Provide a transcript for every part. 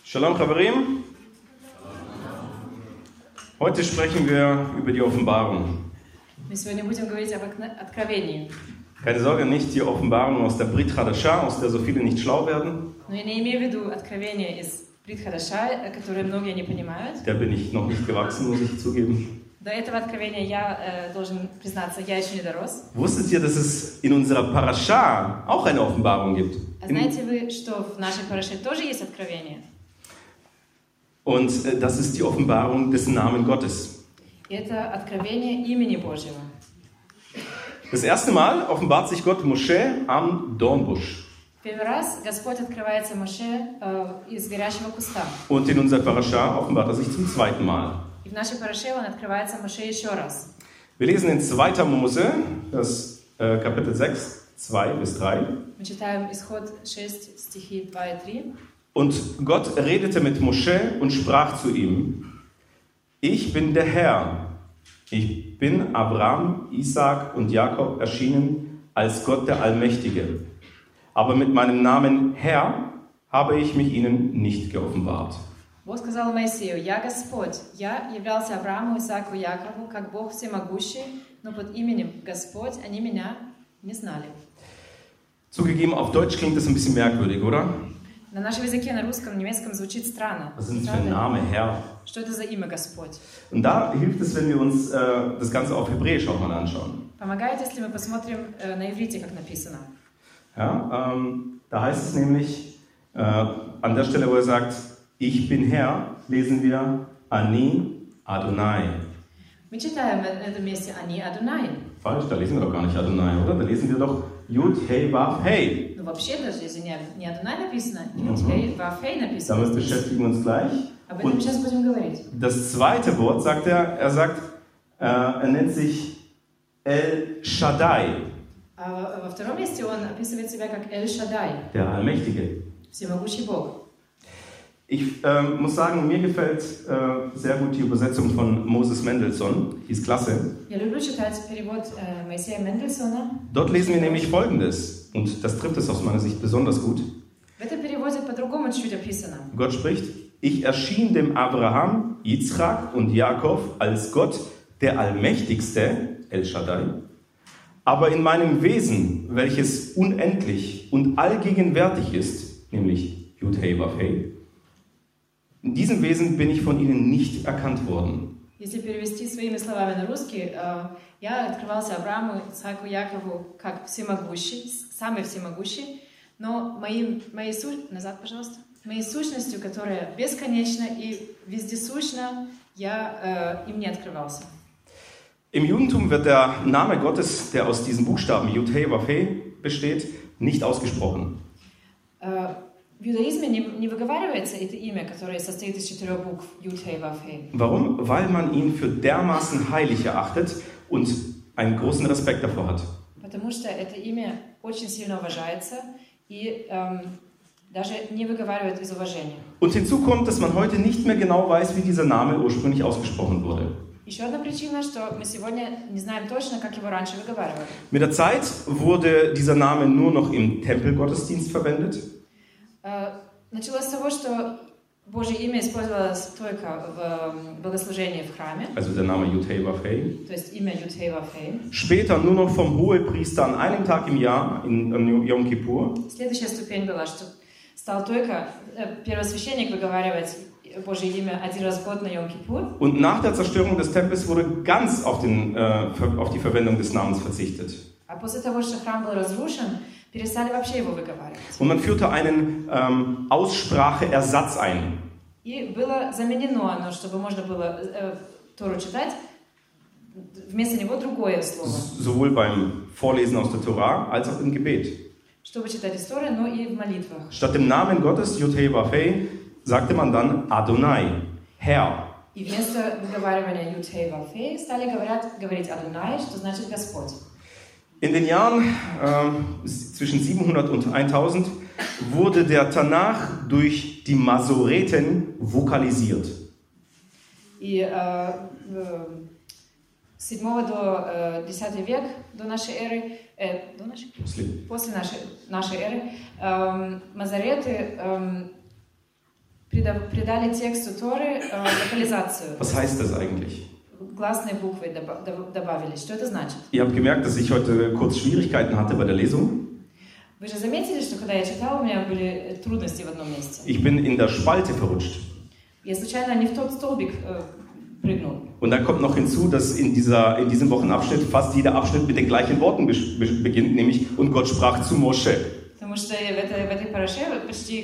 Shalom Chaverim. Heute sprechen wir über die Offenbarung. Мы сегодня будем говорить об откровении. Keine Sorge, nicht die Offenbarung aus der Brit Hadashah, aus der so viele nicht schlau werden. Но я не имею в виду откровение из Брит Хадаша, которое многие не понимают. Der bin ich noch nicht gewachsen, muss ich zugeben. До этого откровения я должен признаться, я еще не дорос. Wusstet ihr, dass es in unserer Parashah auch eine Offenbarung gibt? А знаете вы, что в нашей параше тоже есть откровение? Und das ist die Offenbarung des Namen Gottes. И это откровение имени Божьего. Das erste Mal offenbart sich Gott Moshe am Dornbusch. Первый раз Господь открывается Моше из горящего куста. Und in unserer Parashah offenbart er sich zum zweiten Mal. И в нашей параше он открывается Моше еще раз. Wir lesen in 2. Mose, das Kapitel 6, 2 bis 3. Мы читаем Исход 6, стихи 2 и 3. Und Gott redete mit Moshe und sprach zu ihm: Ich bin der Herr. Ich bin Abraham, Isaak und Jakob erschienen als Gott der Allmächtige. Aber mit meinem Namen Herr habe ich mich ihnen nicht geoffenbart. Бог сказал Моисею: «Я Господь, я являлся Аврааму, Исааку и Якову, как Бог всемогущий, но под именем Господь они меня не знали». Zugegeben, auf Deutsch klingt das ein bisschen merkwürdig, oder? На нашем языке, на русском, немецком звучит странно. Was ist das für ein Name, Herr? Что это за имя Господь? Und da hilft es, wenn wir uns das Ganze auf Hebräisch auch mal anschauen. Помогает, если мы посмотрим на иврите, как написано. Ja, da heißt es nämlich, an der Stelle, wo er sagt, ich bin Herr, lesen wir Ani Adonai. Мы читаем на этом месте «Ани Адонай». Falsch, da lesen wir doch gar nicht Adonai, oder? Da lesen wir doch Yud, Hey, Vav, Hey. Ну вообще даже, если не Адонай написано, Юд, Хей, Вав, Хей написано. Damit beschäftigen wir uns gleich. Об этом сейчас будем говорить. Das zweite Wort sagt er sagt, er nennt sich El Shaddai. А во втором месте он описывает себя как Эль Шаддай, Der Allmächtige. всемогущий Бог. Ich muss sagen, mir gefällt sehr gut die Übersetzung von Moses Mendelssohn. Die ist klasse. Я люблю читать перевод Моисея Мендельсона. Dort lesen wir nämlich Folgendes. Und das trifft es aus meiner Sicht besonders gut. В этом переводе по-другому чуть описано. Gott spricht: Ich erschien dem Abraham, Yitzchak und Jakob als Gott, der Allmächtigste, El Shaddai. Aber in meinem Wesen, welches unendlich und allgegenwärtig ist, nämlich Yud Hey Vav Hey, in diesem Wesen bin ich von ihnen nicht erkannt worden. Если перевести своими словами на русский, я открывался Аврааму, Исааку, Якову как всемогущий, самый всемогущий, но моей сущностью, которая бесконечна и вездесущна, я им не открывался. Im Judentum wird der Name Gottes, der aus diesen Buchstaben Yud Hey Vav Hey besteht, nicht ausgesprochen. В иудаизме не выговаривается это имя, которое состоит из 4 букв Юд, Хей, Вав, Хей. Warum? Weil man ihn für dermaßen heilig erachtet und einen großen Respekt davor hat. Потому что это имя очень сильно уважается и даже не выговаривают из уважения. Und hinzu kommt, dass man heute nicht mehr genau weiß, wie dieser Name ursprünglich ausgesprochen wurde. Еще одна причина, что мы сегодня не знаем точно, как его раньше выговаривали. Mit der Zeit wurde dieser Name nur noch im Tempelgottesdienst verwendet. Началось с того, что Божье имя использовалось только в богослужении в храме. Also der Name Yud Hey Vav Hey. То есть имя Юд, Хей, Вав, Хей. Später nur noch vom Hohepriester an einem Tag im Jahr, in Yom Kippur. Следующая ступень была, что стал только первосвященник выговаривать Божье имя один раз в год на Йом-Кипур. Und nach der Zerstörung des Tempels wurde ganz auf die Verwendung des Namens verzichtet. А после того, что храм был разрушен, перестали вообще его выговаривать. Und man führte einen Ausspracheersatz ein. И было заменено оно, чтобы можно было Тору читать, вместо него другое слово. Sowohl beim Vorlesen aus der Torah als auch im Gebet. Чтобы читать из Торы, но и в молитвах. Statt dem Namen Gottes, Yud Hey Vav Hey, sagte man dann Adonai, Herr. И вместо выговаривания Юд, Хей, Вав, Хей стали говорить Адонай, что значит Господь. In den Jahren zwischen 700 und 1000 wurde der Tanach durch die Masoreten vokalisiert. И с 7 до 10 век до нашей эры, после нашей эры, мазореты придали тексту Торы локализацию. Was heißt das eigentlich? Гласные буквы добавили. Что это значит? Ihr habt gemerkt, dass ich heute kurz Schwierigkeiten hatte bei der Lesung. Вы же заметили, что когда я читала, у меня были трудности в одном месте. Ich bin in der Spalte verrutscht. Я случайно не в тот столбик прыгнул. Und dann kommt noch hinzu, dass in diesem Wochenabschnitt fast jeder Abschnitt mit den gleichen Worten beginnt, nämlich und Gott sprach zu Mosche. Потому что в этой параше почти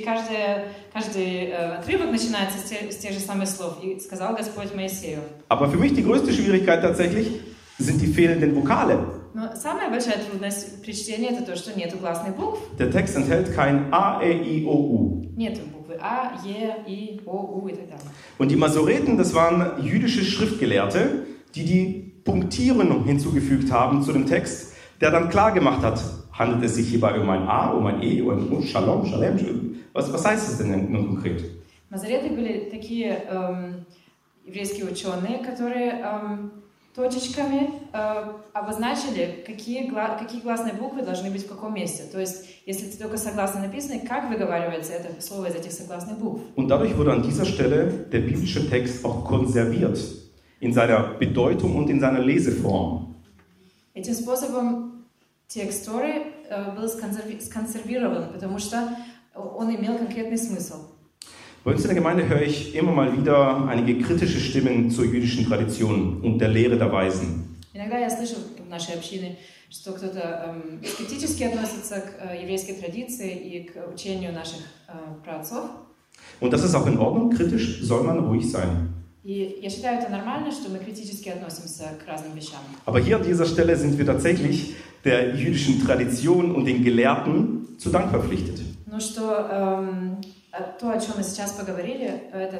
каждый отрывок начинается с тех же самых слов. И сказал Господь Моисею. Aber für mich die größte Schwierigkeit tatsächlich sind die fehlenden Vokale. Но самая большая трудность при чтении это то, что нету гласных букв. Der Text enthält kein A, E, I, O, U. Нету буквы А, Е, И, О, У и так далее. Und die Masoreten, das waren jüdische Schriftgelehrte, die Punktierung hinzugefügt haben zu dem Text, der dann klar gemacht hat, handelt es sich hierbei um ein A, um ein E, um ein O, Shalom, Shalem. Was heißt es denn nun konkret? Мазореты были такие еврейские ученые, которые точечками обозначили, какие гласные буквы должны быть в каком месте. То есть, если только согласно написано, как выговаривается это слово из этих согласных букв. Und dadurch wurde an dieser Stelle der biblische Text auch konserviert in seiner Bedeutung und in seiner Leseform. Этим способом текст Торы был сконсервирован, потому что он имел конкретный смысл. Bei uns in der Gemeinde höre ich immer mal wieder einige kritische Stimmen zur jüdischen Tradition und der Lehre der Weisen. Иногда я слышу в нашей общине, что кто-то скептически относится к еврейской традиции и к учению наших праотцов. Und das ist auch in Ordnung, kritisch soll man ruhig sein. И я считаю это нормально, что мы критически относимся к разным вещам. Aber hier an dieser Stelle sind wir tatsächlich der jüdischen Tradition und den Gelehrten zu Dank verpflichtet. Ну что то, о чем мы сейчас поговорили, это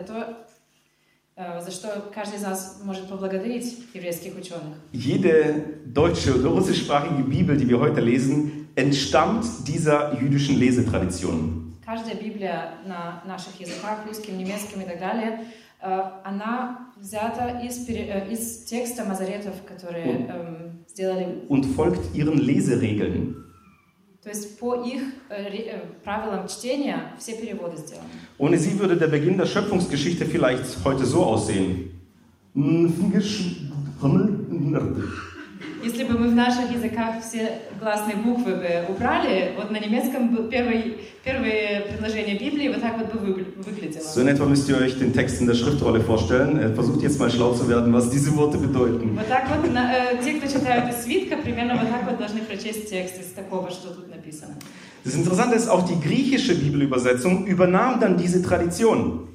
то, за что каждый из нас может поблагодарить еврейских ученых. Jede deutsche oder russischsprachige Bibel, die wir heute lesen, entstammt dieser jüdischen Lesetradition. Каждая Библия на наших языках, русским, немецким и так далее, она взята из текста мазоретов, которые сделали. Und folgt ihren Leseregeln. То есть по их правилам чтения все переводы сделаны. Ohne sie würde der Beginn der Schöpfungsgeschichte vielleicht heute so aussehen. Если бы мы в наших языках все гласные буквы бы убрали, вот на немецком первое предложение Библии вот так вот бы выглядело. So in etwa müsst ihr euch den Text in der Schriftrolle vorstellen. Versucht jetzt mal schlau zu werden, was diese Worte bedeuten. Вот так вот те, кто читают из свитка, примерно вот так вот должны прочесть текст из такого, что тут написано. Das Interessante ist, auch die griechische Bibelübersetzung übernahm dann diese Tradition.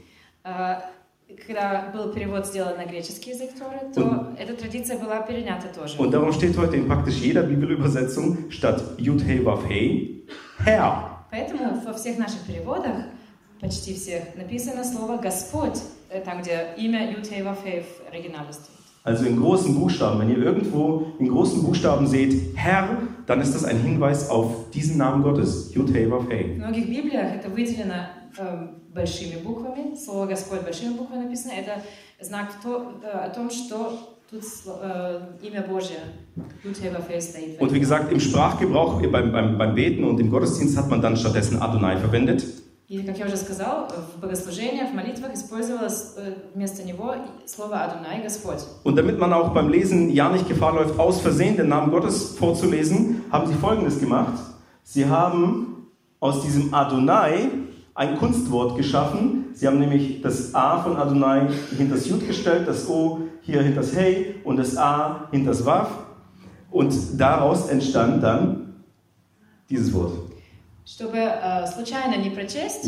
Когда был перевод сделан на греческий язык Торы, то эта традиция была перенята тоже. Und darum steht heute in praktisch jeder Bibelübersetzung statt Yud He Vav He Herr. Поэтому во всех наших переводах, почти всех, написано слово Господь, там где имя Yud He Vav He в оригинале стоит. Also in großen Buchstaben. Wenn ihr irgendwo in großen Buchstaben seht Herr, dann ist das ein Hinweis auf diesen Namen Gottes, Yud He Vav He. В многих Библиях это выделено большими буквами, слово Господь большими буквами написано, это знак о том, что тут имя Божье, Yud He Vav He стоит. Und wie gesagt, im Sprachgebrauch, beim Beten und im Gottesdienst hat man dann stattdessen Adonai verwendet. И, как я уже сказал, в богослужениях, в молитвах использовалось вместо него слово Адонай, Господь. Und damit man auch beim Lesen ja nicht Gefahr läuft, aus Versehen den Namen Gottes vorzulesen, haben sie Folgendes gemacht. Sie haben aus diesem Adonai ein Kunstwort geschaffen. Sie haben nämlich das A von Adonai hinter das Jud gestellt, das O hier hinter das Hey und das A hinter das Vav. Und daraus entstand dann dieses Wort. Чтобы случайно не прочесть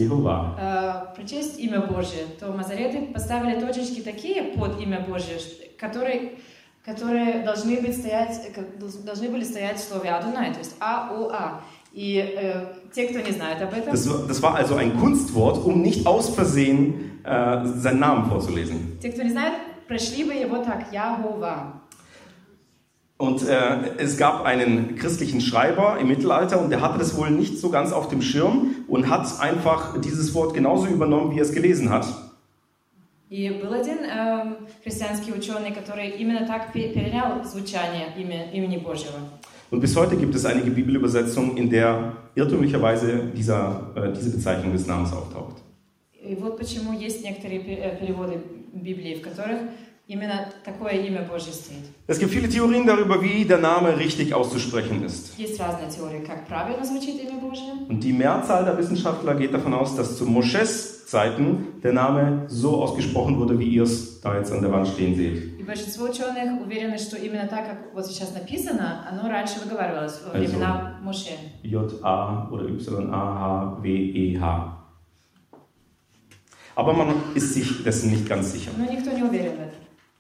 имя Божье, то мазореты поставили точечки такие под имя Божье, которые должны были стоять в слове Адонай, то есть А-О-А. И те, кто не знает об этом... Das war also ein Kunstwort, um nicht aus Versehen seinen Namen vorzulesen. Те, кто не знает, прочли бы его так, Яхова. Und es gab einen christlichen Schreiber im Mittelalter und der hatte das wohl nicht so ganz auf dem Schirm und hat einfach dieses Wort genauso übernommen, wie er es gelesen hat. И был один христианский ученый, который именно так перенял звучание имени Божьего. Und bis heute gibt es einige Bibelübersetzungen, in der irrtümlicherweise diese Bezeichnung des Namens auftaucht. И вот почему есть некоторые переводы Библии, в которых именно такое имя Божье стоит. Es gibt viele Theorien darüber, wie der Name richtig auszusprechen ist. Есть разные теории, как правильно звучит имя Божье. Und die Mehrzahl der Wissenschaftler geht davon aus, dass zu Mosches Zeiten der Name so ausgesprochen wurde, wie ihr es da jetzt an der Wand stehen seht. И большинство ученых уверены, что именно так, как вот сейчас написано, оно раньше выговаривалось во времена Моше. J-A oder Y-A-H-W-E-H. Aber man ist sich dessen nicht ganz sicher. Но никто не уверен в этом.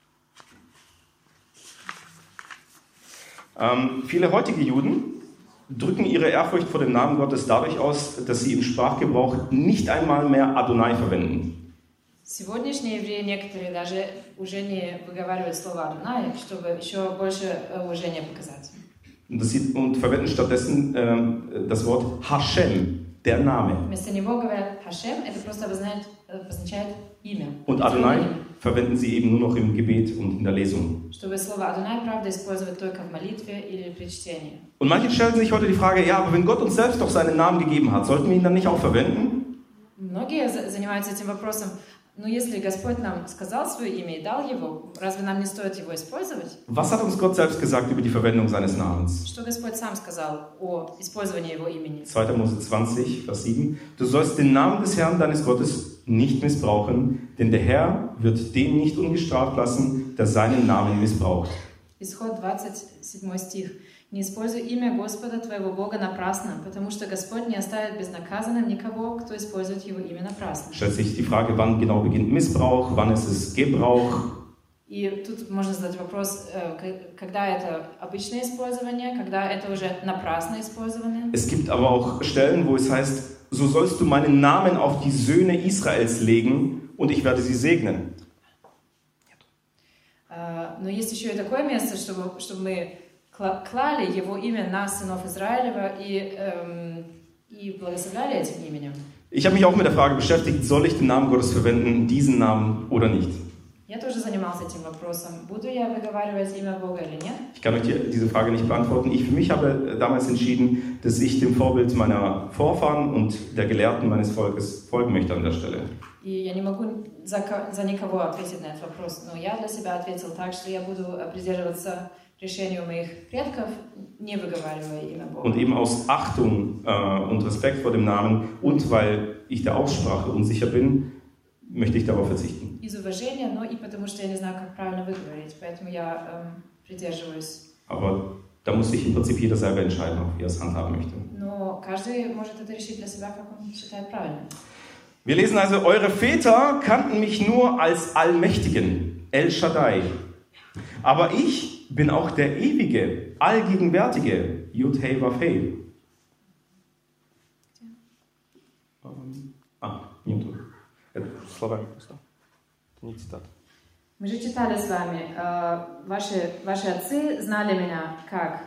Viele heutige Juden drücken ihre Ehrfurcht vor dem Namen Gottes dadurch aus, dass sie im Sprachgebrauch nicht einmal mehr Adonai verwenden. Сегодняшние евреи некоторые даже уже не выговаривают слово Адонай, чтобы еще больше уважения показать. Und verwenden stattdessen das Wort Hashem, der Name. Вместо него говорят Хашем, это просто обозначает имя. Und Adonai verwenden sie eben nur noch im Gebet und in der Lesung. Чтобы слово Адонай, правда, использовать только в молитве или при чтении. Und manche stellen sich heute die Frage, ja, aber wenn Gott uns selbst doch seinen Namen gegeben hat, sollten wir ihn dann nicht auch verwenden? Многие занимаются этим вопросом. Но если Господь нам сказал свое имя и дал его, разве нам не стоит его использовать? Was hat uns Gott selbst gesagt über die Verwendung seines Namens? Что Господь сам сказал о использовании его имени? 2. Mose 20, Vers 7. Du sollst den Namen des Herrn deines Gottes nicht missbrauchen, denn der Herr wird den nicht ungestraft lassen, der seinen Namen missbraucht. Исход 27 стих. Не используй имя Господа твоего Бога напрасно, потому что Господь не оставит безнаказанным никого, кто использует его имя напрасно. Stellt sich die Frage, wann genau beginnt Missbrauch, wann ist es Gebrauch? И тут можно задать вопрос, когда это обычное использование, когда это уже напрасное использование. Es gibt aber auch Stellen, wo es heißt, so sollst du meinen Namen auf die Söhne Israels legen und ich werde sie segnen. Но есть еще и такое место, чтобы мы клали его имя на сынов Израилева и благословляли этим именем. Ich habe mich auch mit der Frage beschäftigt, soll ich den Namen Gottes verwenden, diesen Namen oder nicht? Я тоже занимался этим вопросом. Буду я выговаривать имя Бога или нет? Ich kann euch diese Frage nicht beantworten. Ich für mich habe damals entschieden, dass ich dem Vorbild meiner Vorfahren und der Gelehrten meines Volkes folgen möchte an der Stelle. И я не могу за никого ответить на этот вопрос, но я для себя ответил так, что я буду придерживаться решению моих предков, не выговаривая имя Бога. Und eben aus Achtung und Respekt vor dem Namen und weil ich der Aussprache unsicher bin, möchte ich darauf verzichten. Из уважения, но и потому что я не знаю, как правильно выговорить, поэтому я придерживаюсь. Aber da muss sich im Prinzip jeder selber entscheiden, wie er es handhaben möchte. Но каждый может это решить для себя, как он считает правильно. Wir lesen also, eure Väter kannten mich nur als Allmächtigen, El Shaddai. Aber ich bin auch der ewige, allgegenwärtige, Yud-Heh Vav-Heh. Минуту. Это слова просто. Это не цитата. Мы же читали с вами, ваши отцы знали меня как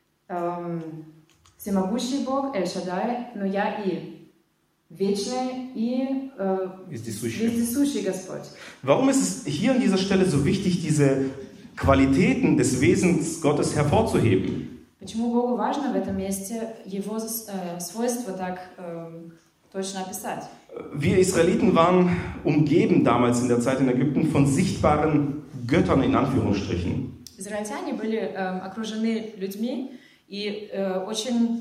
всемогущий Бог, Эль Шаддай, но я и вечный и вездесущий Господь. Warum ist es hier an dieser Stelle so wichtig, diese Qualitäten des Wesens Gottes hervorzuheben? Почему Богу важно в этом месте его свойства так точно описать? Wir Israeliten waren umgeben damals in der Zeit in Ägypten von sichtbaren Göttern in Anführungsstrichen. Израильтяне были окружены людьми и очень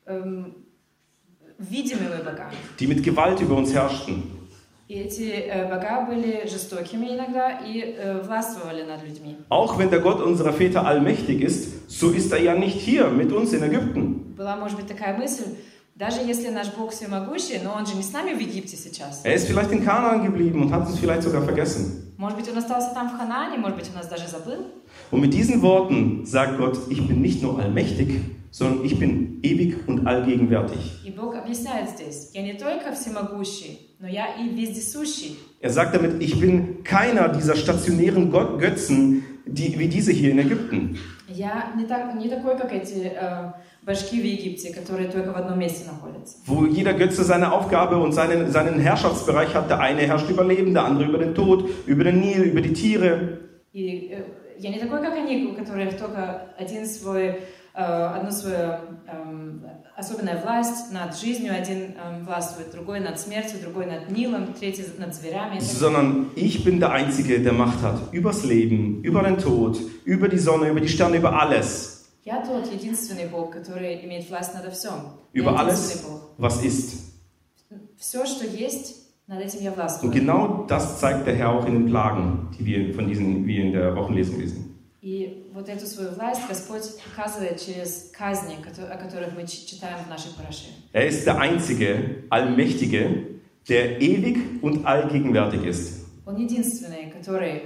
видимыми богами. Die mit Gewalt über uns herrschten. И эти бога были жестокими иногда и властвовали над людьми. Auch wenn der Gott unserer Väter allmächtig ist, so ist er ja nicht hier mit uns in Ägypten. Была, может быть, такая мысль, даже если наш Бог всемогущий, но он же не с нами в Египте сейчас. Er ist vielleicht in Kanaan geblieben und hat uns vielleicht sogar vergessen. Может быть, он остался там в Ханаане, может быть, он нас даже забыл. Und mit diesen Worten sagt Gott, ich bin nicht nur allmächtig, sondern ich bin ewig und allgegenwärtig. И Бог объясняет здесь, я не только всемогущий, но я и вездесущий. Er sagt damit, ich bin keiner dieser stationären Götzen, wie diese hier in Ägypten. Я не такой, как эти башки в Египте, которые только в одном месте находятся. Wo jeder Götze seine Aufgabe und seinen Herrschaftsbereich hat. Der eine herrscht über Leben, der andere über den Tod, über den Nil, über die Tiere. И я не такой, как они, у которых только одну свою особенная власть над жизнью. Один властвует, другой над смертью, другой над Нилом, третий над зверями. Sondern ich bin der Einzige, der Macht hat übers Leben, über den Tod, über die Sonne, über die Sterne, über alles. Я тот единственный Бог, который имеет власть над всем. Über alles, was ist. Все, что есть, над этим я властвую. Und genau das zeigt der Herr auch in den Plagen, die wir in der Wochenlesung lesen. И вот эту свою власть Господь показывает через казни, о которых мы читаем в нашей параше. Er ist der Einzige, Allmächtige, der ewig und allgegenwärtig ist. Он единственный, который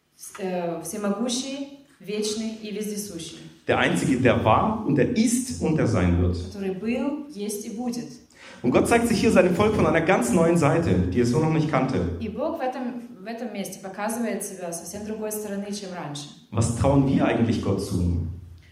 всемогущий, вечный и вездесущий. Der Einzige, der war und der ist und der sein wird. Который был, есть и будет. Und Gott zeigt sich hier seinem Volk von einer ganz neuen Seite, die es so noch nicht kannte. И Бог в этом месте показывает себя совсем другой стороны, чем раньше. Was trauen wir eigentlich Gott zu?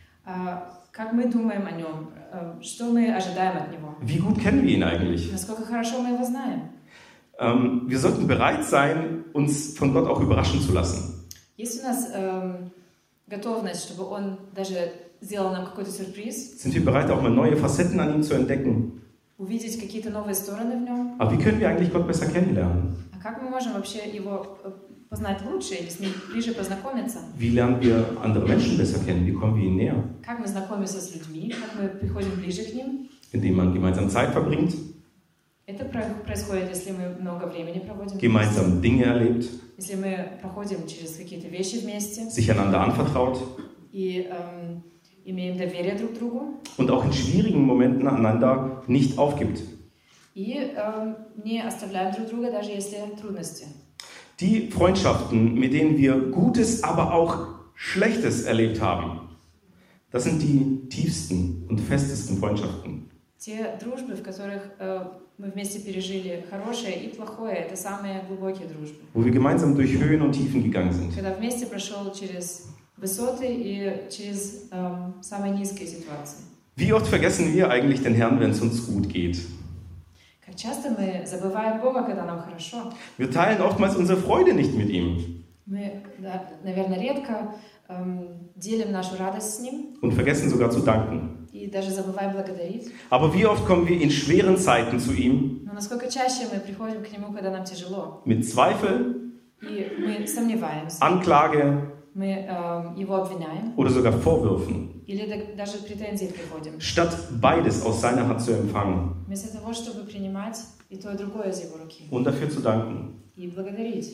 Как мы думаем о нем? Что мы ожидаем от него? Wie gut kennen wir ihn eigentlich? Насколько хорошо мы его знаем? Wir sollten bereit sein, uns von Gott auch überraschen zu lassen. Есть у нас готовность, чтобы он даже сделал нам какой-то сюрприз? Sind wir bereit, auch mal neue Facetten an ihm zu entdecken? Увидеть какие-то новые стороны в нем? Aber wie können wir eigentlich Gott besser kennenlernen? А как мы можем вообще его познать лучше или с ним ближе познакомиться? Wie lernen wir andere Menschen besser kennen? Wie kommen wir ihnen näher? Как мы знакомимся с людьми? Как мы приходим ближе к ним? Indem man gemeinsam Zeit verbringt, Это происходит, если мы много времени проводим, gemeinsam Dinge erlebt, если мы проходим через какие-то вещи вместе sich einander anvertraut и имеем доверие друг к другу und auch in schwierigen Momenten einander nicht aufgibt. и не оставляем друг друга, даже если трудности. Die Freundschaften, mit denen wir Gutes, aber auch Schlechtes erlebt haben, das sind die tiefsten und festesten Freundschaften. Те дружбы, в которых мы вместе пережили хорошее и плохое, это самые глубокие дружбы. Wo wir gemeinsam durch Höhen und Tiefen gegangen sind. Когда вместе прошел через высоты и через самые низкие ситуации. Wie oft vergessen wir eigentlich den Herrn, wenn es uns gut geht? Как часто мы забываем Бога, когда нам хорошо. Wir teilen oftmals unsere Freude nicht mit ihm. Мы, наверное, редко делим нашу радость с Ним. Und vergessen sogar zu danken. И даже забываем благодарить. Aber wie oft kommen wir in schweren Zeiten zu ihm? Но насколько чаще мы приходим к Нему, когда нам тяжело. Mit Zweifel, И мы сомневаемся. Anklage Мы Его обвиняем. oder sogar Vorwürfen. Или даже претензии приходим. Statt beides aus seiner Hand zu empfangen Вместо того, чтобы принимать и то, и другое из Его руки. und dafür zu danken. И благодарить.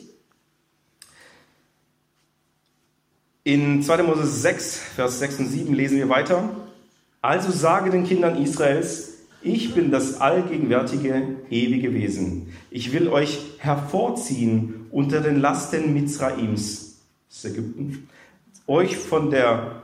In 2. Mose 6, Vers 6 und 7 lesen wir weiter. Also sage den Kindern Israels, ich bin das allgegenwärtige, ewige Wesen. Ich will euch hervorziehen unter den Lasten Mizraims, das ist Ägypten, euch von der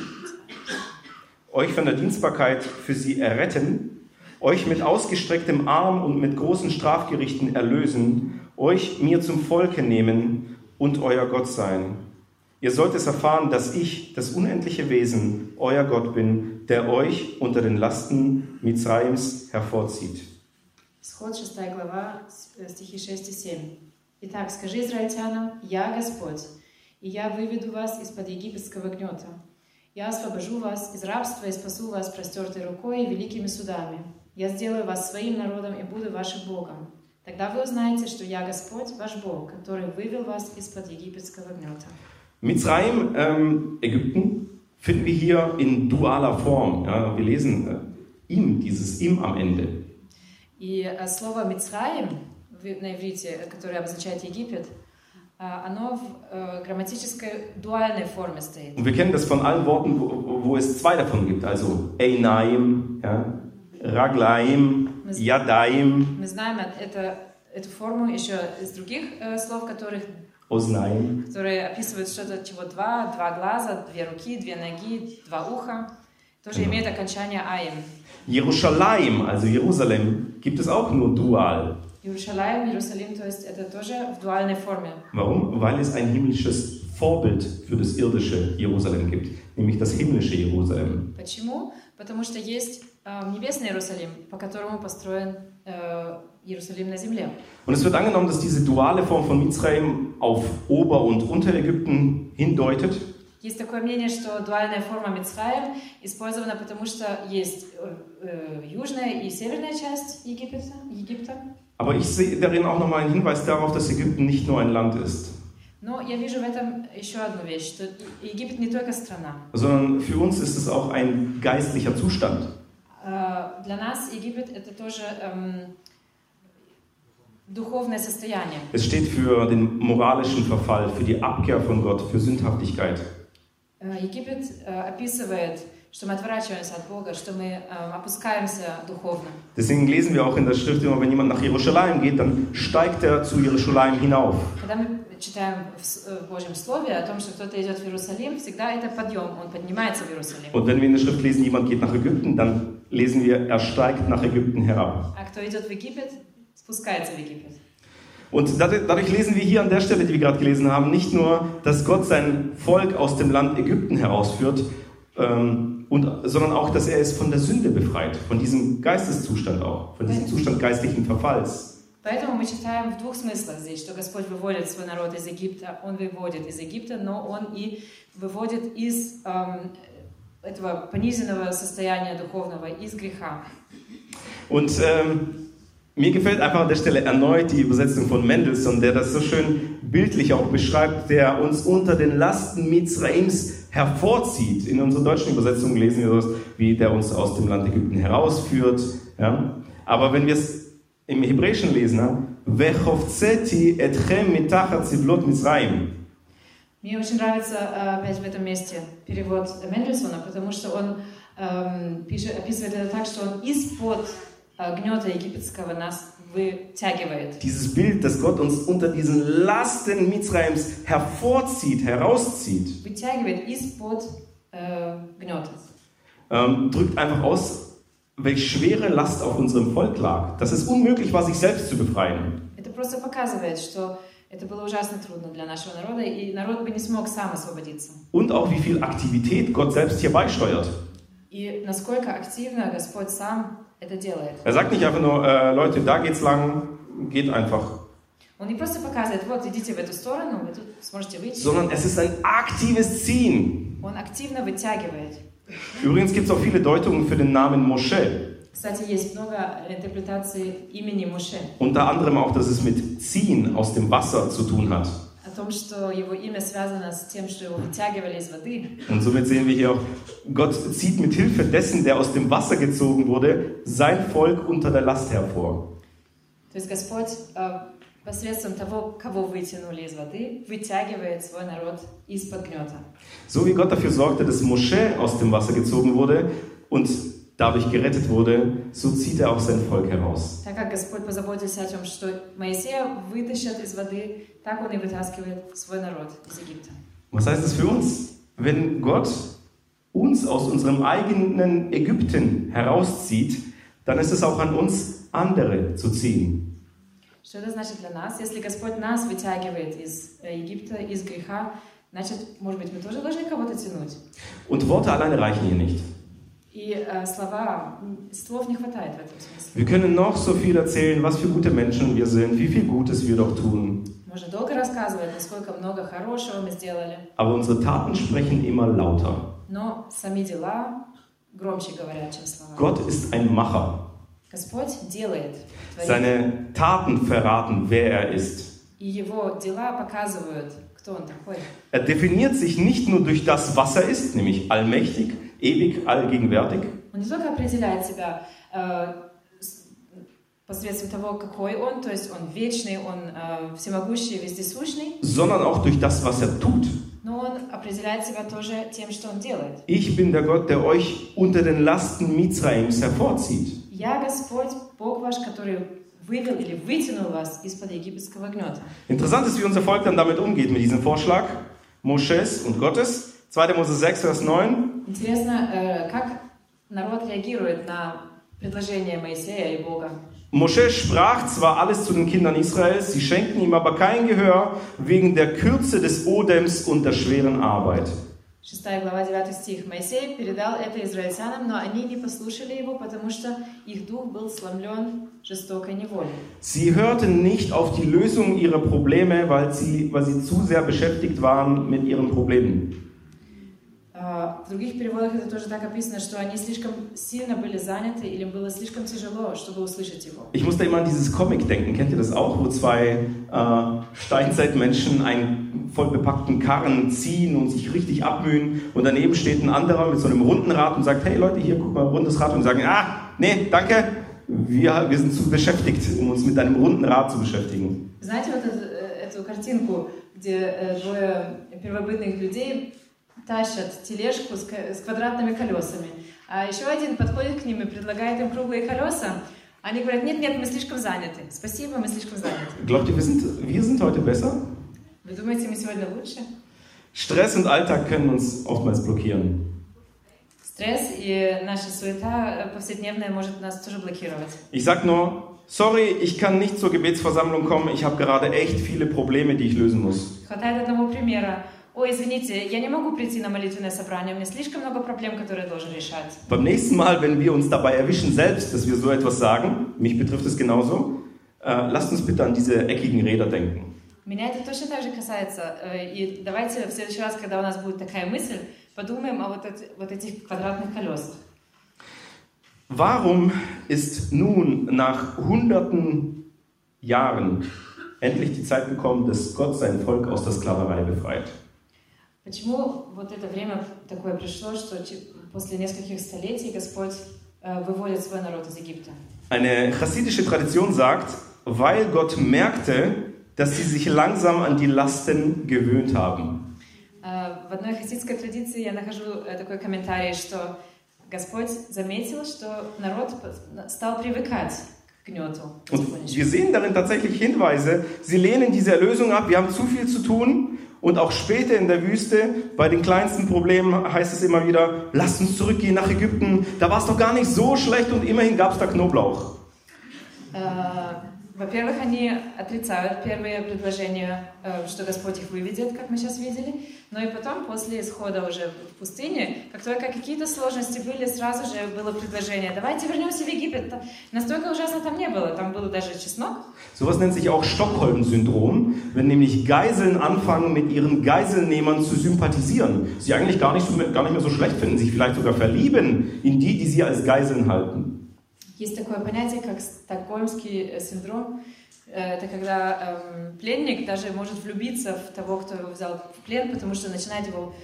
Dienstbarkeit für sie erretten, euch mit ausgestrecktem Arm und mit großen Strafgerichten erlösen, euch mir zum Volke nehmen und euer Gott sein. Ihr sollt es erfahren, dass ich, das unendliche Wesen, euer Gott bin, der euch unter den Lasten Мицраимс hervorzieht. Исход 6 глава, стихи 6 и 7. Итак, скажи израильтянам, я Господь, и я выведу вас из-под египетского гнета. Я освобожу вас из рабства и спасу вас простертой рукой и великими судами. Я сделаю вас своим народом и буду вашим Богом. Тогда вы узнаете, что я Господь, ваш Бог, который вывел вас из-под египетского гнета. Mizraim, Ägypten, finden wir hier in dualer Form. Ja, wir lesen dieses im am Ende. И слово Мицраим на иврите, которое обозначает Египет, оно в грамматической дуальной форме стоит. Und wir kennen das von allen Worten, wo es zwei davon gibt, also Einaim, ja, Raglaim, Yadaim. Мы знаем эту форму еще из других слов, Oznaim. которые описывают что-то, чего два глаза, две руки, две ноги, два уха. Тоже имеет окончание аим. Jerusalem, also Jerusalem, gibt es auch nur dual. Jerusalem, то есть это тоже в дуальной форме. Warum? Weil es ein himmlisches Vorbild für das irdische Jerusalem gibt, nämlich das himmlische Jerusalem. Почему? Потому что есть небесный Иерусалим, по которому построен Jerusalem на земле. Und es wird angenommen, dass diese duale Form von Mizraim auf Ober- und Unterägypten hindeutet. Есть такое мнение, что дуальная форма Мицраим использована, потому что есть южная и северная часть Египта. Aber ich sehe darin auch nochmal einen Hinweis darauf, dass Ägypten nicht nur ein Land ist. Но я вижу в этом еще одну вещь, что Египет не только страна. Sondern für uns ist es auch ein geistlicher Zustand. Для нас Египет это тоже духовное состояние. Es steht für den moralischen Verfall, für die Abkehr von Gott, für Sündhaftigkeit. Египет описывает, что мы отворачиваемся от Бога, что мы опускаемся духовно. Deswegen lesen wir auch in der Schrift immer, wenn jemand nach Jerusalem geht, dann steigt er zu Jerusalem hinauf. Когда мы читаем в Божьем Слове о том, что кто-то идет в Иерусалим, всегда это подъем, он поднимается в Иерусалим. Und wenn wir in der Schrift lesen, jemand geht nach Ägypten, dann lesen wir, er steigt nach Ägypten herab. А кто идет в Египет, спускается в Египет. Und dadurch lesen wir hier an der Stelle, die wir gerade gelesen haben, nicht nur, dass Gott sein Volk aus dem Land Ägypten herausführt, sondern auch, dass er es von der Sünde befreit, von diesem Geisteszustand auch, von diesem Zustand geistlichen Verfalls. Поэтому мы читаем в двух смыслах здесь, что Господь выводит свой народ из Египта, Он выводит из Египта, но Он и выводит из этого пониженного состояния духовного, из греха. Und mir gefällt einfach an der Stelle erneut die Übersetzung von Mendelssohn, der das so schön bildlich auch beschreibt, der uns unter den Lasten Mizraims hervorzieht. In unserer deutschen Übersetzung lesen wir das, wie der uns aus dem Land Ägypten herausführt. Ja? Aber wenn wir es im Hebräischen lesen, «Vechovzeti etchem mitachat zivlot Mizraim». Мне очень нравится опять в этом месте перевод Мендельсона, потому что он описывает это так, что он из-под гнета египетского нас вытягивает. Dieses Bild, dass Gott uns unter diesen Lasten Mizraims hervorzieht, herauszieht, Вытягивает из-под гнета. Drückt einfach aus, welche schwere Last auf unserem Volk lag. Dass es unmöglich war, sich selbst zu befreien. Это просто показывает, что это было ужасно трудно для нашего народа, и народ бы не смог сам освободиться. Und auch wie viel Aktivität Gott selbst hier beisteuert. И насколько активно Господь сам это делает. Er sagt nicht einfach nur, Leute, da geht's lang, geht einfach. Он не просто показывает, вот идите в эту сторону, вы тут сможете выйти. Sondern es ist ein aktives Ziehen. Он активно вытягивает. Übrigens gibt es auch viele Deutungen für den Namen Moshe. Кстати, есть много интерпретаций имени Моше. Unter anderem auch, dass es mit Ziehen aus dem Wasser zu tun hat. О том, что его имя связано с тем, что его вытягивали из воды. Und somit sehen wir hier auch, Gott zieht mit Hilfe dessen, der aus dem Wasser gezogen wurde, sein Volk unter der Last hervor. То есть Господь посредством того, кого вытянули из воды, вытягивает свой народ из-под гнета. So wie Gott dafür sorgte, dass Moshe aus dem Wasser gezogen wurde und dadurch gerettet wurde, so zieht er auch sein Volk heraus. Так как Господь позаботился о том, что Моисея вытащат из воды, так Он и вытаскивает свой народ из Египта. Was heißt das für uns? Wenn Gott uns aus unserem eigenen Ägypten herauszieht, dann ist es auch an uns, andere zu ziehen. Что это значит для нас? Если Господь нас вытягивает из Египта, из греха, значит, может быть, мы тоже должны кого-то тянуть. Und Worte alleine reichen hier nicht. И слов не хватает в этом смысле. Wir können noch so viel erzählen, was für gute Menschen wir sind, wie viel Gutes wir doch tun. Можно долго рассказывать, насколько много хорошего мы сделали. Aber unsere Taten sprechen immer lauter. Но сами дела громче говорят, чем слова. Gott ist ein Macher. Господь делает, творит. Seine Taten verraten, wer er ist. И его дела показывают, кто он такой. Er definiert sich nicht nur durch das, was er ist, nämlich allmächtig, ewig, allgegenwärtig. Он не только определяет себя посредством того, какой он, то есть он вечный, он всемогущий, вездесущный. Sondern auch durch das, was er tut. Но он определяет себя тоже тем, что он делает. Ich bin der Gott, der euch unter den Lasten Mizraims hervorzieht. Я Господь, Бог ваш, который вывел или вытянул вас из-под египетского гнета. Interessant ist, wie unser Volk dann damit umgeht, mit diesem Vorschlag Moses und Gottes. 2. Mose 6, Vers 9. Интересно, как народ реагирует на предложение Моисея и Бога. Moshe sprach zwar alles zu den Kindern Israels, sie schenkten ihm aber kein Gehör wegen der Kürze des Odems und der schweren Arbeit. 6 глава, 9 стих. Моисей передал это израильтянам, но они не послушали его, потому что их дух был сломлен жестокой неволей. Sie hörten nicht auf die Lösung ihrer Probleme, weil sie zu sehr beschäftigt waren mit ihren Problemen. В других переводах это тоже так описано, что они слишком сильно были заняты или было слишком тяжело, чтобы услышать его. Ich musste immer an dieses Comic denken. Kennt ihr das auch, wo zwei Steinzeitmenschen einen voll bepackten Karren ziehen und sich richtig abmühen und daneben steht ein anderer mit so einem runden Rad und sagt, hey Leute, hier, guck mal, rundes Rad, und die sagen, nee, danke, wir sind zu beschäftigt, um uns mit einem runden Rad zu beschäftigen. Знаете вот эту картинку, где двое первобытных людей тащат тележку с квадратными колесами, а еще один подходит к ним и предлагает им круглые колеса. Они говорят, нет, мы слишком заняты. Спасибо, мы слишком заняты. Glaubt ihr, wir sind heute besser? Вы думаете, мы сегодня лучше? Stress und Alltag können uns oftmals blockieren. Стресс и наша суета повседневная может нас тоже блокировать. Ich sag nur, sorry, ich kann nicht zur Gebetsversammlung kommen, ich habe gerade echt viele Probleme, die ich lösen muss. Хватает одного примера. Ой, извините, я не могу прийти на молитвенное собрание, у меня слишком много проблем, которые я должен решать. Beim nächsten Mal, wenn wir uns dabei erwischen selbst, dass wir so etwas sagen, mich betrifft es genauso, lasst uns bitte an diese eckigen Räder denken. Меня это точно так же касается. И давайте в следующий раз, когда у нас будет такая мысль, подумаем о вот этих квадратных колесах. Warum ist nun nach hunderten Jahren endlich die Zeit gekommen, dass Gott sein Volk aus der Sklaverei befreit? Почему вот это время такое пришло, что после нескольких столетий Господь выводит свой народ из Египта? Eine chassidische Tradition sagt, weil Gott merkte, dass sie sich langsam an die Lasten gewöhnt haben. В одной хасидской традиции я нахожу такой комментарий, что Господь заметил, что народ стал привыкать к гнету. Und wir sehen darin tatsächlich Hinweise, sie lehnen diese Erlösung ab, wir haben zu viel zu tun. Und auch später in der Wüste, bei den kleinsten Problemen heißt es immer wieder, lasst uns zurückgehen nach Ägypten, da war es doch gar nicht so schlecht und immerhin gab es da Knoblauch. Во-первых, они отрицают первые предложения, что Господь их выведет, как мы сейчас видели, но и потом, после исхода уже в пустыне, как только какие-то сложности были, сразу же было предложение, давайте вернемся в Египет. Настолько ужасно там не было, там был даже чеснок. Sowas nennt sich auch Stockholm-Syndrom, wenn nämlich Geiseln anfangen, mit ihren Geiselnehmern zu sympathisieren. Sie eigentlich gar nicht mehr so schlecht finden, sich vielleicht sogar verlieben in die sie als Geiseln halten. Есть такое понятие, как стокгольмский синдром. Это когда пленник даже может влюбиться в того, кто его взял в плен, потому что начинает его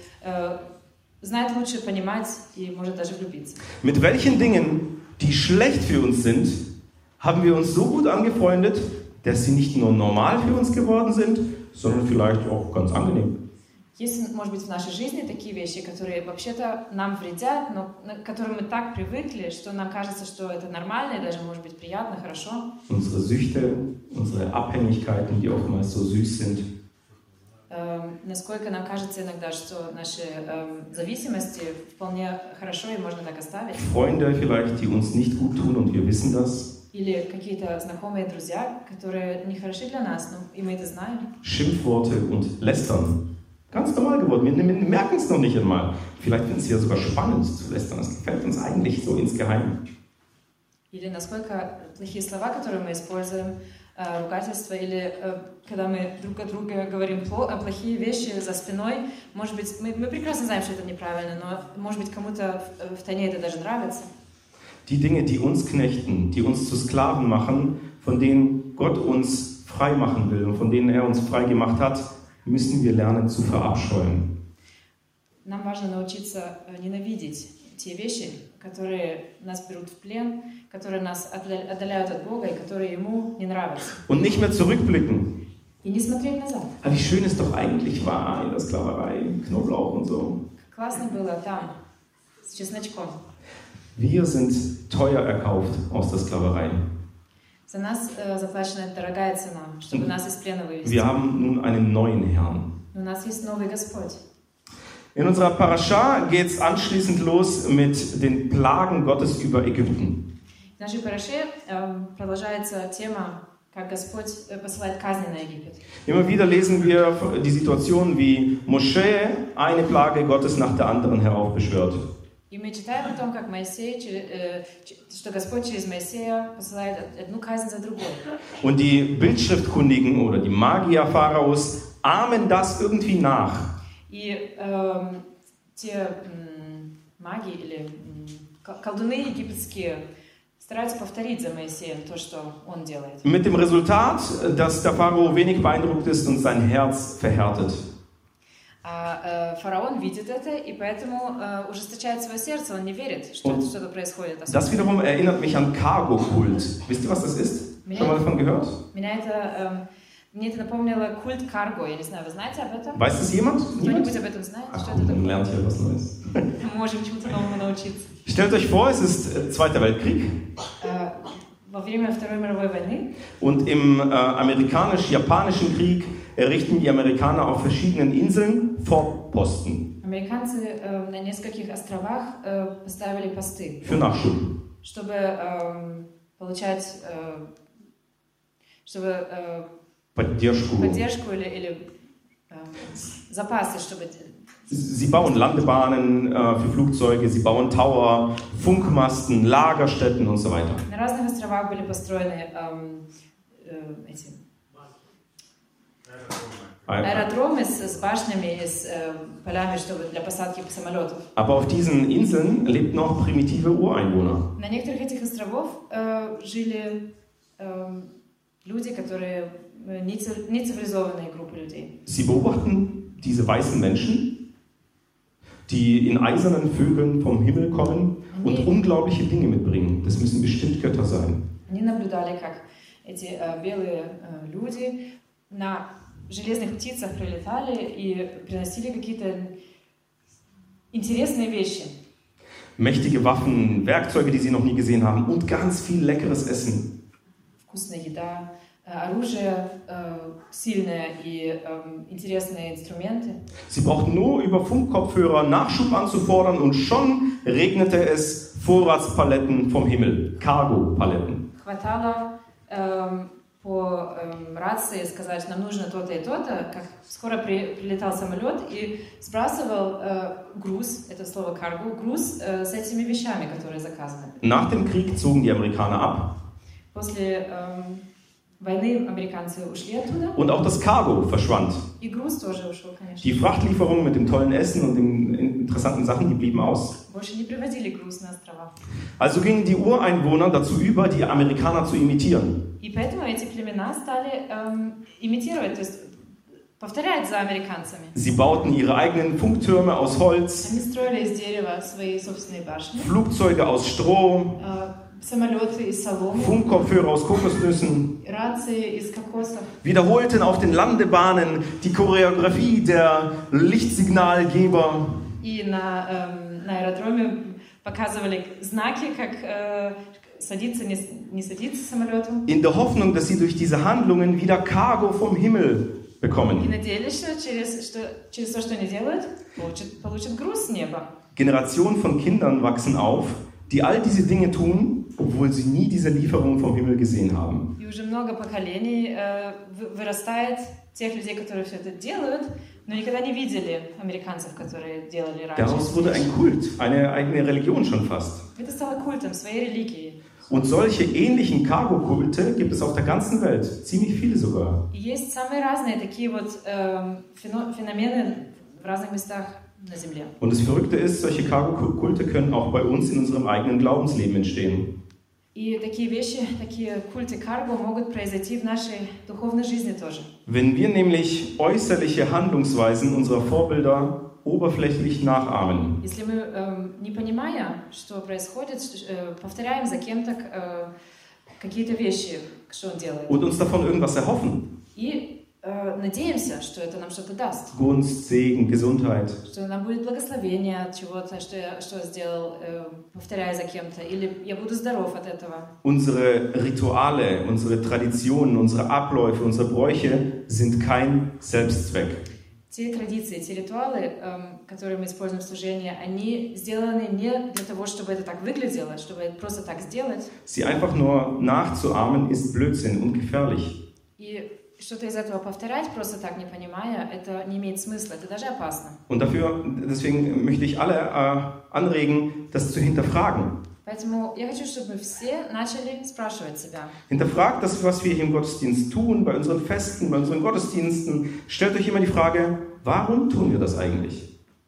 знает лучше, понимать и может даже влюбиться. Mit welchen Dingen, die schlecht für uns sind, haben wir uns so gut angefreundet, dass sie nicht nur normal für uns geworden sind, sondern vielleicht auch ganz angenehm. Есть, может быть, в нашей жизни такие вещи, которые вообще-то нам вредят, но к которым мы так привыкли, что нам кажется, что это нормально и даже, может быть, приятно, хорошо. Unsere Süchte, unsere Abhängigkeiten, die oftmals so süß sind. Насколько нам кажется иногда, что наши зависимости вполне хорошо и можно так оставить. Freunde vielleicht, die uns nicht gut tun und wir wissen das. Или какие-то знакомые друзья, которые не хороши для нас, но и мы это знаем. Schimpfworte und Lästern. Ganz normal geworden. Wir merken es noch nicht einmal. Vielleicht finden Sie ja sogar spannend zu lästern. Das gefällt uns eigentlich so insgeheim. Или насколько плохие слова, которые мы используем, ругательства, или когда мы друг о друге говорим плохие вещи за спиной, может быть, мы прекрасно знаем, что это неправильно, но, может быть, кому-то в тайне это даже нравится. Die Dinge, die uns knechten, die uns zu Sklaven machen, von denen Gott uns frei machen will und von denen er uns frei gemacht hat, müssen wir lernen zu verabscheuen. Нам важно научиться ненавидеть те вещи, которые нас берут в плен, которые нас отдаляют от Бога и которые Ему не нравятся. Und nicht mehr zurückblicken. И не смотреть назад. Aber wie schön es doch eigentlich war in der Sklaverei, Knoblauch und so. Классно было там, с чесночком. Wir sind teuer erkauft aus der Sklaverei. За нас заплачена дорогая цена, чтобы нас из плена вывести. Wir haben nun einen neuen Herrn. У нас есть новый Господь. In unserer Parascha geht es anschließend los mit den Plagen Gottes über Ägypten. В нашей параше продолжается тема, как Господь посылает казни на Египет. Immer wieder lesen wir die Situation, wie Mosche eine Plage Gottes nach der anderen heraufbeschwört. И мы читаем о том, как Моисей, что Господь через Моисея посылает одну казнь за другой. Und die Bildschriftkundigen oder die Magier Pharaos ahmen das irgendwie nach. И те маги или колдуны египетские стараются повторить за Моисеем то, что он делает. Mit dem Resultat, dass der Pharao wenig beeindruckt ist und sein Herz verhärtet. Фараон видит это, и поэтому ужесточает свое сердце, он не верит, что что-то происходит. Das wiederum erinnert mich an Cargo-Kult. Wisst ihr, was das ist? Schon mal davon gehört? Мне это напомнило культ карго. Я не знаю, вы знаете об этом? Weiß das jemand? Кто-нибудь об этом знает? Ach, что komm, это dann такое? lernt ihr was Neues. Мы можем чему-то новому научиться. Stellt euch vor, es ist Zweiter Weltkrieg. Во время Второй мировой войны Und im amerikanisch-japanischen Krieg errichten die Amerikaner auf verschiedenen Inseln Fortposten американцы на нескольких островах поставили посты, für Nachschub. чтобы получать Поддержку. поддержку или запасы, чтобы... Sie bauen Landebahnen für Flugzeuge, sie bauen Tower, Funkmasten, Lagerstätten und so weiter. На разных островах были построены эти аэродромы с башнями и с полями, чтобы для посадки самолетов. Aber auf diesen Inseln lebten noch primitive Ureinwohner. На некоторых этих островах жили люди, которые не цивилизованные группы людей. Sie beobachten diese weißen Menschen, die in eisernen Vögeln vom Himmel kommen und unglaubliche Dinge mitbringen. Das müssen bestimmt Götter sein. Они наблюдали, как эти белые люди на железных птицах прилетали и приносили какие-то интересные вещи. Mächtige Waffen, Werkzeuge, die sie noch nie gesehen haben und ganz viel leckeres Essen. Вкусная еда, оружие сильное и интересные инструменты. Sie brauchten nur über Funkkopfhörer Nachschub anzufordern und schon regnete es Vorratspaletten vom Himmel, Cargo-Paletten. Хватало по рации сказать, нам нужно то-то и то-то, как скоро прилетал самолет и сбрасывал груз, это слово cargo, груз с этими вещами, которые заказаны. Nach dem Krieg zogen die Amerikaner ab. После войны американцы ушли оттуда. Und auch das Cargo verschwand. И груз тоже ушел, конечно. Die Frachtlieferungen mit dem tollen Essen und den interessanten Sachen, die blieben aus. Больше не привозили груз на острова. Also gingen die Ureinwohner dazu über, die Amerikaner zu imitieren. И поэтому эти племена стали имитировать, то есть повторять за американцами. Sie bauten ihre eigenen Funktürme aus Holz, Они строили из дерева свои собственные башни, Flugzeuge aus Stroh, самолеты из соломы, Funkkopfhörer aus Kokosnüssen, рации из кокосов. wiederholten auf den Landebahnen die Choreografie der Lichtsignalgeber. И на аэродроме показывали знаки, как садиться, не садиться самолетом. In der Hoffnung, dass sie durch diese Handlungen wieder Cargo vom Himmel И bekommen. надеялись, что через то, что они делают, получат груз с неба. Generationen von Kindern wachsen auf, die all diese Dinge tun, obwohl sie nie diese Lieferung vom Himmel gesehen haben. И уже много поколений вырастает тех людей, которые все это делают, но никогда не видели американцев, которые делали раньше. Daraus wurde ein Kult, eine eigene Religion schon fast. Это стало культом, своей религией. Und solche ähnlichen Cargo-Kulte gibt es auf der ganzen Welt, ziemlich viele sogar. И есть самые разные такие вот феномены в разных местах на Земле. Und das Verrückte ist, solche Cargo-Kulte können auch bei uns in unserem eigenen Glaubensleben entstehen. И такие вещи, такие культы карго могут произойти в нашей духовной жизни тоже. Wenn wir nämlich äußerliche Handlungsweisen unserer Vorbilder oberflächlich nachahmen. Если мы, не понимая, что происходит, повторяем за кем-то какие-то вещи, что он делает. Und uns davon irgendwas erhoffen. И надеемся, что это нам что-то даст. Gunst, Segen, Gesundheit. Что нам будет благословение от чего-то, что я сделал, повторяя за кем-то. Или я буду здоров от этого. Unsere Rituale, unsere Traditionen, unsere Abläufe, unsere Bräuche sind kein Selbstzweck. Те традиции, те ритуалы, которые мы используем в служении, они сделаны не для того, чтобы это так выглядело, чтобы это просто так сделать. Sie einfach nur nachzuahmen ist Blödsinn und gefährlich. И что-то из этого повторять, просто так не понимая, это не имеет смысла, это даже опасно. Und deswegen möchte ich alle anregen, das zu hinterfragen. Поэтому я хочу, чтобы мы все начали спрашивать себя. Hinterfragt das, was wir hier im Gottesdienst tun, bei unseren Festen, bei unseren Gottesdiensten. Stellt euch immer die Frage, warum tun wir das eigentlich?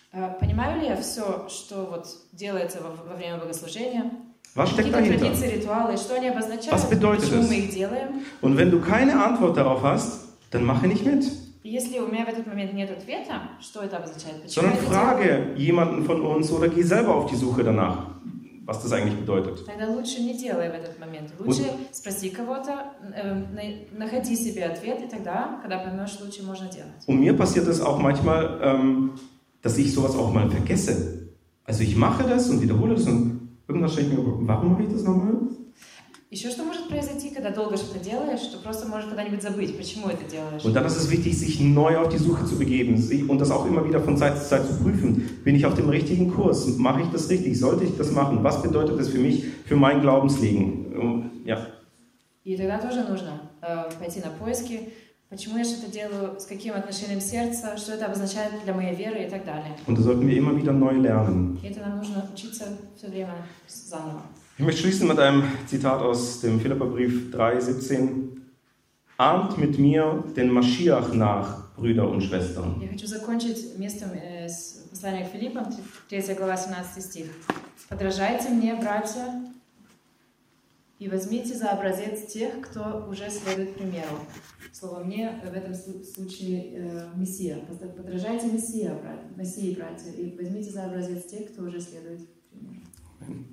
Понимаю ли я все, что вот делается во время богослужения? Was steckt Какие-то dahinter? традиции, ритуалы, что они обозначают, Was bedeutet почему es? мы их делаем? Und wenn du keine Antwort darauf hast, dann mache nicht mit. И если у меня в этот момент нет ответа, что это обозначает? Почему Sondern я это делаю? frage jemanden von uns oder geh selber auf die Suche danach, was das eigentlich bedeutet. Тогда лучше не делай в этот момент. Лучше спроси кого-то, находи себе ответ, и тогда, когда поймешь, лучше можно делать. Und mir passiert es auch manchmal, dass ich sowas auch mal vergesse. Also ich mache das und wiederhole das und irgendwas stelle ich mir, warum mache ich das nochmal? Еще что может произойти, когда долго что-то делаешь, что просто можешь когда-нибудь забыть, почему это делаешь. Und dann ist es wichtig, sich neu auf die Suche zu begeben und das auch immer wieder von Zeit zu Zeit zu prüfen. Bin ich auf dem richtigen Kurs? Mache ich das richtig? Sollte ich das machen? Was bedeutet das für mich, für mein Glaubensleben? Ja. И тогда тоже нужно пойти на поиски, почему я что-то делаю, с каким отношением сердца, что это обозначает для моей веры и так далее. Und das sollten wir immer wieder neu lernen. И это нам нужно учиться все время заново. Ich möchte schließen mit einem Zitat aus dem Philipperbrief 3,17. Ahmt mit mir den Maschiach nach, Brüder und Schwestern. Я хочу закончить местом с послания к Филиппам, 3 глава, 17 стих. «Подражайте мне, братья, и возьмите за образец тех, кто уже следует примеру». Слово «мне» в этом случае Мессия. Подражайте Мессии, братья, и возьмите за образец тех, кто уже следует примеру.